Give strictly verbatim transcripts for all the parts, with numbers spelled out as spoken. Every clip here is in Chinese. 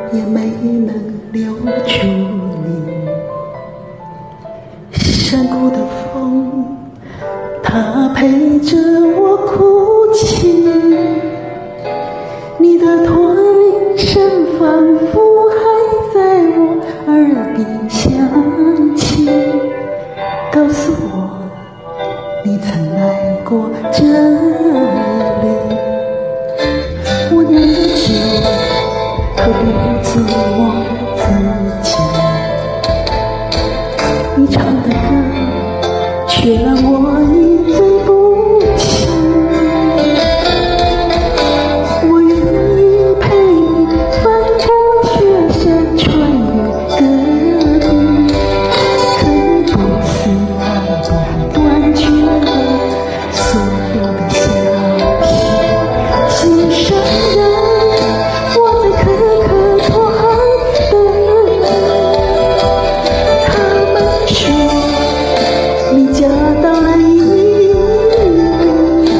也沒能留住你。山谷的風，它陪着我哭泣，你的驼鈴聲仿佛還在我耳邊響起，告訴我你曾來過這裡。我釀的酒何不做我自己，你唱的歌卻讓我一醉不起。我願意陪你翻過雪山，穿越戈壁，可不是愛的斷絕了所有的消息。心上人，我在可可托海等你。他們說你嫁到了伊犁，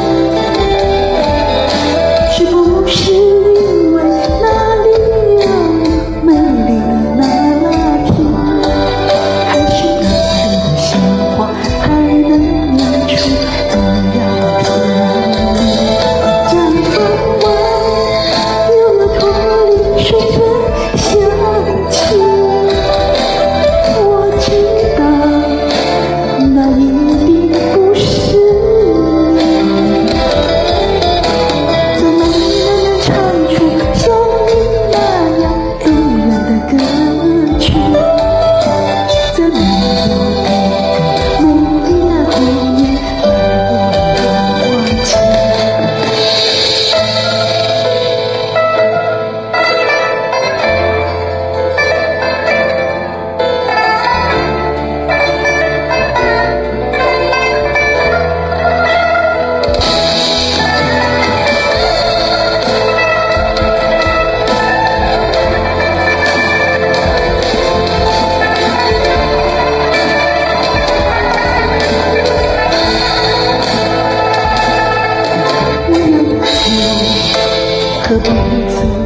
是不是因為那裡有美麗的那拉提，還是那裡的鮮花才能釀出多樣的甜蜜？毡房外有了駝鈴水的香氣，我知道那一定不是你，怎麼能唱出像你那樣動人的歌曲？怎麼有一個美麗的童年讓我不忘記？我釀的酒何不如此